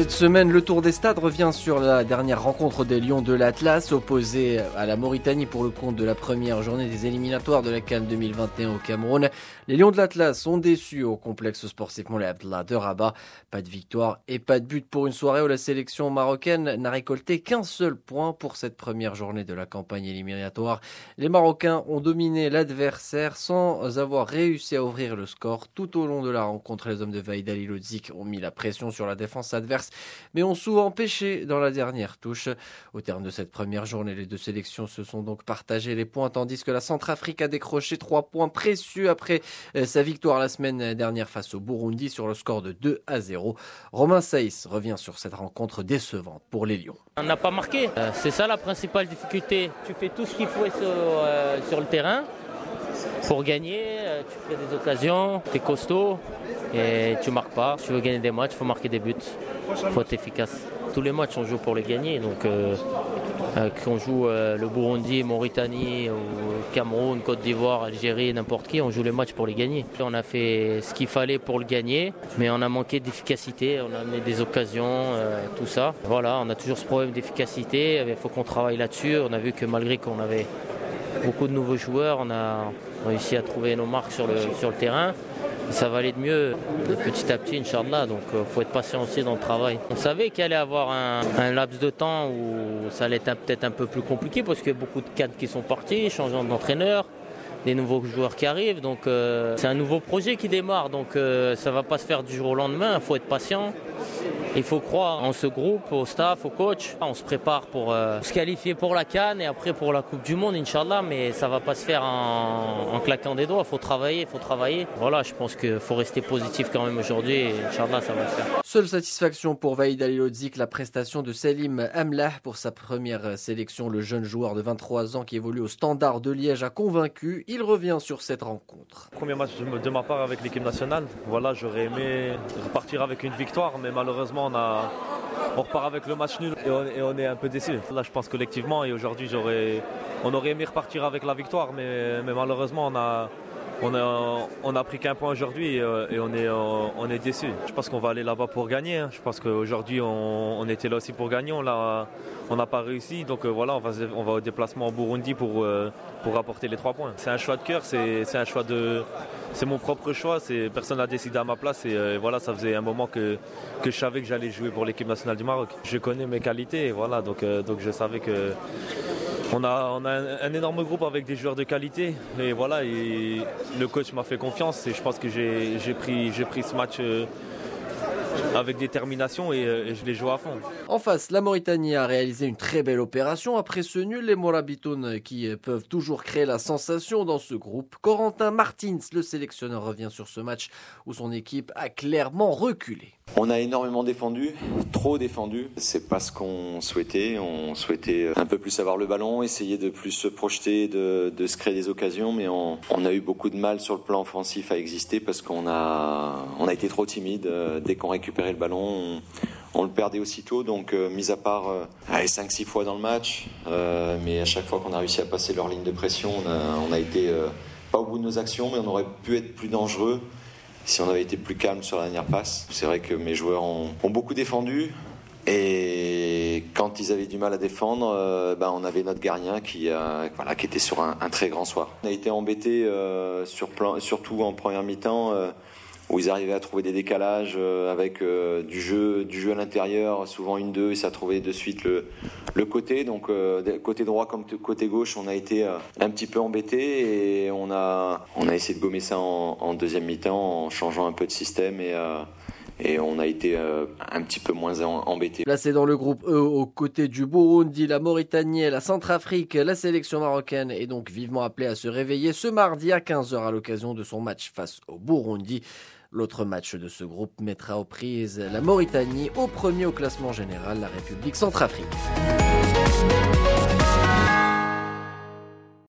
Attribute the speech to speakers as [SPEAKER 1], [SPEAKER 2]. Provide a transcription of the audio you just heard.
[SPEAKER 1] Cette semaine, le Tour des Stades revient sur la dernière rencontre des Lions de l'Atlas, opposés à la Mauritanie pour le compte de la première journée des éliminatoires de la CAN 2021 au Cameroun. Les Lions de l'Atlas sont déçus au complexe sportif Moulay Abdellah de Rabat. Pas de victoire et pas de but pour une soirée où la sélection marocaine n'a récolté qu'un seul point pour cette première journée de la campagne éliminatoire. Les Marocains ont dominé l'adversaire sans avoir réussi à ouvrir le score. Tout au long de la rencontre, les hommes de Vahid Halilhodžić ont mis la pression sur la défense adverse, mais ont souvent pêché dans la dernière touche. Au terme de cette première journée, les deux sélections se sont donc partagées les points, tandis que la Centrafrique a décroché 3 points précieux après sa victoire la semaine dernière face au Burundi sur le score de 2-0. Romain Saïs revient sur cette rencontre décevante pour les Lions.
[SPEAKER 2] On n'a pas marqué, c'est ça la principale difficulté. Tu fais tout ce qu'il faut sur le terrain pour gagner, tu fais des occasions, tu es costaud et tu marques pas. Si tu veux gagner des matchs, il faut marquer des buts, il faut être efficace. Tous les matchs on joue pour les gagner, donc qu'on joue le Burundi, Mauritanie, ou Cameroun, Côte d'Ivoire, Algérie, n'importe qui, on joue les matchs pour les gagner. On a fait ce qu'il fallait pour le gagner, mais on a manqué d'efficacité, on a amené des occasions, tout ça. Voilà, on a toujours ce problème d'efficacité, il faut qu'on travaille là-dessus. On a vu que malgré qu'on avait beaucoup de nouveaux joueurs, on a réussi à trouver nos marques sur le terrain. Et ça va aller de mieux petit à petit, Inch'Allah. Donc il faut être patient aussi dans le travail. On savait qu'il allait y avoir un laps de temps où ça allait être peut-être un peu plus compliqué parce qu'il y a beaucoup de cadres qui sont partis, changeant d'entraîneur, des nouveaux joueurs qui arrivent. Donc c'est un nouveau projet qui démarre. Donc ça ne va pas se faire du jour au lendemain. Il faut être patient. Il faut croire en ce groupe, au staff, au coach. On se prépare pour se qualifier pour la CAN et après pour la Coupe du Monde, Inch'Allah. Mais ça ne va pas se faire en claquant des doigts. Il faut travailler, Voilà, je pense qu'il faut rester positif quand même aujourd'hui et Inch'Allah, ça va le faire.
[SPEAKER 1] Seule satisfaction pour Vahid Halilhodžić, la prestation de Selim Amlah pour sa première sélection. Le jeune joueur de 23 ans qui évolue au Standard de Liège a convaincu. Il revient sur cette rencontre.
[SPEAKER 3] Premier match de ma part avec l'équipe nationale. Voilà, j'aurais aimé repartir avec une victoire, mais malheureusement on repart avec le match nul et on est un peu déçus. Là, je pense collectivement et aujourd'hui on aurait aimé repartir avec la victoire, mais malheureusement on a pris qu'un point aujourd'hui et on est déçus. Je pense qu'on va aller là-bas pour gagner. Je pense qu'aujourd'hui on était là aussi pour gagner. On n'a pas réussi. Donc voilà, on va au déplacement au Burundi pour apporter les 3 points. C'est un choix de cœur, c'est mon propre choix. Personne n'a décidé à ma place et voilà, ça faisait un moment que je savais que j'allais jouer pour l'équipe nationale du Maroc. Je connais mes qualités, et voilà, donc je savais que on a un énorme groupe avec des joueurs de qualité et voilà, et le coach m'a fait confiance et je pense que j'ai pris ce match avec détermination et je l'ai joué à fond.
[SPEAKER 1] En face, la Mauritanie a réalisé une très belle opération. Après ce nul, les Morabitoun qui peuvent toujours créer la sensation dans ce groupe. Corentin Martins, le sélectionneur, revient sur ce match où son équipe a clairement reculé.
[SPEAKER 4] On a énormément défendu, trop défendu. C'est pas ce qu'on souhaitait. On souhaitait un peu plus avoir le ballon, essayer de plus se projeter, de se créer des occasions, mais on a eu beaucoup de mal sur le plan offensif à exister parce qu'on a été trop timide. Dès qu'on récupérait le ballon, on le perdait aussitôt. Donc, mis à part 5-6 fois dans le match, mais à chaque fois qu'on a réussi à passer leur ligne de pression, on a été pas au bout de nos actions, mais on aurait pu être plus dangereux si on avait été plus calme sur la dernière passe. C'est vrai que mes joueurs ont beaucoup défendu et quand ils avaient du mal à défendre, on avait notre gardien qui était sur un très grand soir. On a été embêtés surtout en première mi-temps où ils arrivaient à trouver des décalages avec du jeu à l'intérieur, souvent 1-2 et ça trouvait de suite le côté. Donc côté droit comme côté gauche, on a été un petit peu embêtés et on a essayé de gommer ça en deuxième mi-temps en changeant un peu de système et on a été un petit peu moins embêtés.
[SPEAKER 1] Placé dans le groupe E, aux côtés du Burundi, la Mauritanie et la Centrafrique, la sélection marocaine est donc vivement appelée à se réveiller ce mardi à 15h à l'occasion de son match face au Burundi. L'autre match de ce groupe mettra aux prises la Mauritanie, au premier au classement général, la République centrafricaine.